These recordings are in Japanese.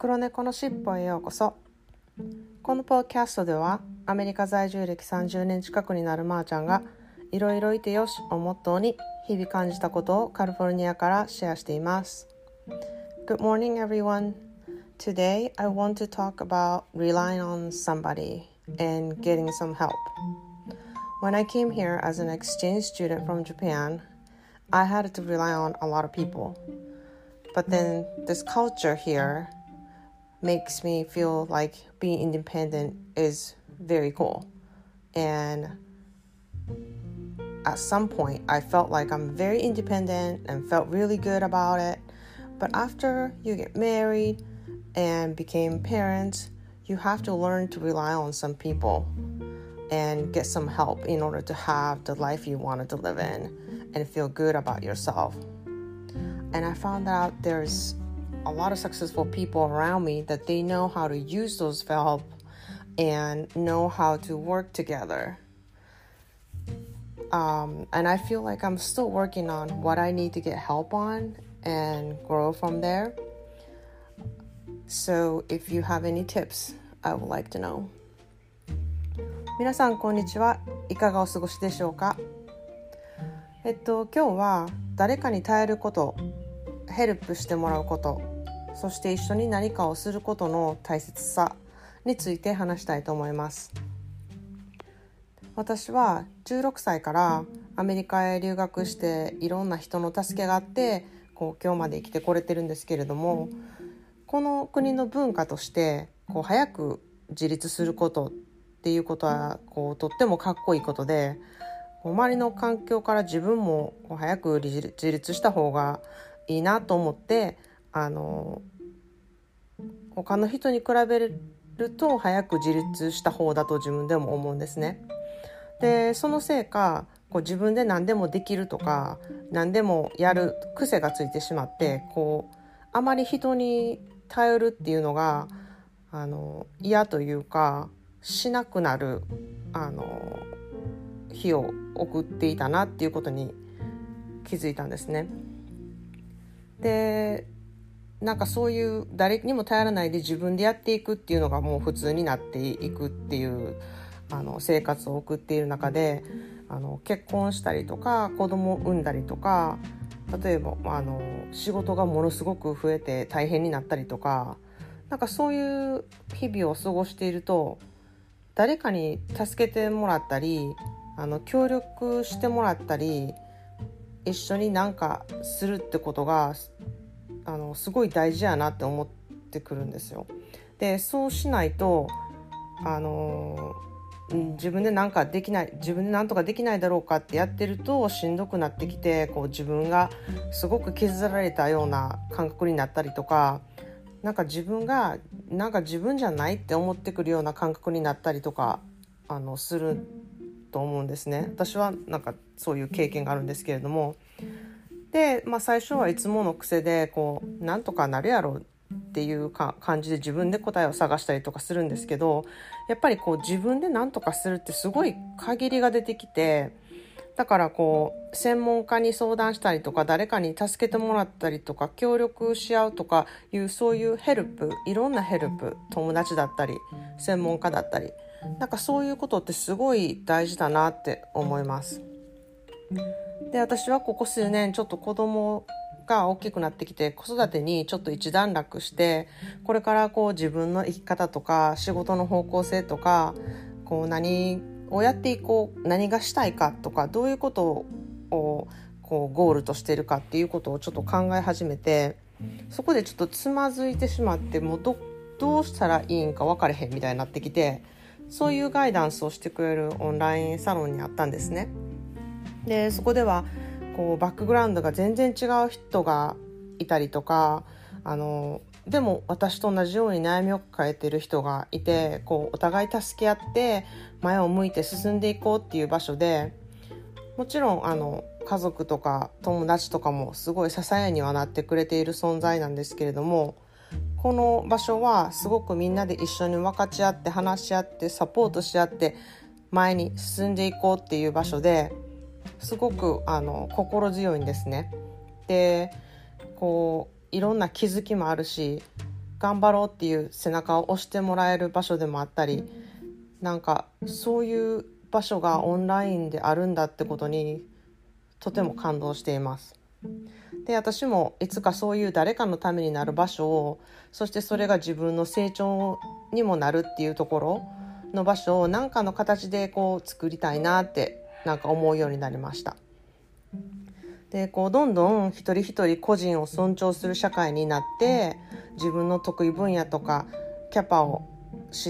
黒猫のしっぽへようこそ。このポッドキャストではアメリカ在住歴30年近くになるまーちゃんがいろいろいてよしをモットーに日々感じたことをカリフォルニアからシェアしています。 Good morning everyone. Today I want to talk about relying on somebody and getting some help. When I came here as an exchange student from Japan, I had to rely on a lot of people. But then this culture here makes me feel like being independent is very cool. And at some point, I felt like I'm very independent and felt really good about it. But after you get married and became parents, you have to learn to rely on some people and get some help in order to have the life you wanted to live in and feel good about yourself. And I found out there's a lot of successful people around me that they know how to use those help and know how to work together. And I feel like I'm still working on what I need to get help on and grow from there. So if you have any tips, I would like to know. 皆さんこんにちは。いかがお過ごしでしょうか？今日は誰かに頼ること、ヘルプしてもらうこと、そして一緒に何かをすることの大切さについて話したいと思います。私は16歳からアメリカへ留学していろんな人の助けがあって今日まで生きてこれてるんですけれども、この国の文化として早く自立することっていうことはとってもかっこいいことで、周りの環境から自分も早く自立した方がいいなと思って、他の人に比べると早く自立した方だと自分でも思うんですね。でそのせいか自分で何でもできるとか何でもやる癖がついてしまってあまり人に頼るっていうのが嫌というかしなくなる日を送っていたなっていうことに気づいたんですね。でそういう誰にも頼らないで自分でやっていくっていうのがもう普通になっていくっていう生活を送っている中で結婚したりとか子供を産んだりとか、例えば仕事がものすごく増えて大変になったりとか、そういう日々を過ごしていると誰かに助けてもらったり協力してもらったり一緒に何かするってことがすごい大事やなって思ってくるんですよ。でそうしないと自分で何かできない、自分で何とかできないだろうかってやってるとしんどくなってきて自分がすごく削られたような感覚になったりとか、自分が自分じゃないって思ってくるような感覚になったりとかすると思うんですね。私はそういう経験があるんですけれども、で、最初はいつもの癖でなんとかなるやろっていう感じで自分で答えを探したりとかするんですけど、やっぱり自分でなんとかするってすごい限りが出てきて、だから専門家に相談したりとか誰かに助けてもらったりとか協力し合うとかいうそういうヘルプ、いろんなヘルプ、友達だったり専門家だったりそういうことってすごい大事だなって思います。で私はここ数年ちょっと子供が大きくなってきて子育てにちょっと一段落して、これから自分の生き方とか仕事の方向性とか何をやっていこう、何がしたいかとかどういうことをゴールとしているかっていうことをちょっと考え始めて、そこでちょっとつまずいてしまって、もうどうしたらいいんか分かれへんみたいになってきて、そういうガイダンスをしてくれるオンラインサロンにあったんですね。でそこではバックグラウンドが全然違う人がいたりとか、でも私と同じように悩みを抱えている人がいて、お互い助け合って前を向いて進んでいこうっていう場所で、もちろん家族とか友達とかもすごい支えにはなってくれている存在なんですけれども、この場所はすごくみんなで一緒に分かち合って話し合ってサポートし合って前に進んでいこうっていう場所で、すごく心強いんですね。でいろんな気づきもあるし、 頑張ろうっていう背中を押してもらえる場所でもあったり、なんかそういう場所がオンラインであるんだってことにとても感動しています。で、私もいつかそういう誰かのためになる場所を、そしてそれが自分の成長にもなるっていうところの場所を何かの形でこう作りたいなってなんか思うようになりました。で、こうどんどん一人一人個人を尊重する社会になって、自分の得意分野とかキャパを知って、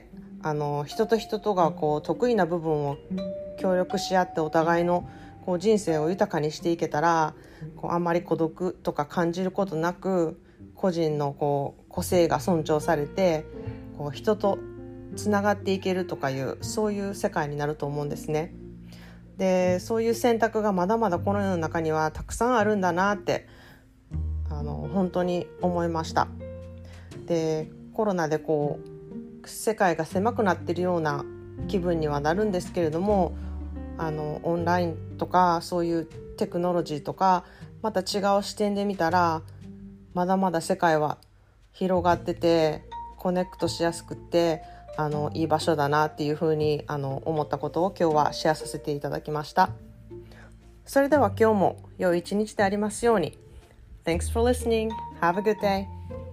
人と人とがこう得意な部分を協力し合ってお互いのこう人生を豊かにしていけたら、こうあんまり孤独とか感じることなく、個人のこう個性が尊重されて、こう人とつながっていけるとかいう、そういう世界になると思うんですね。で、そういう選択がまだまだこの世の中にはたくさんあるんだなって本当に思いました。で、コロナでこう世界が狭くなっているような気分にはなるんですけれども、オンラインとかそういうテクノロジーとかまた違う視点で見たら、まだまだ世界は広がっててコネクトしやすくっていい場所だなっていうふうに思ったことを今日はシェアさせていただきました。それでは今日も良い一日でありますように。Thanks for listening. Have a good day.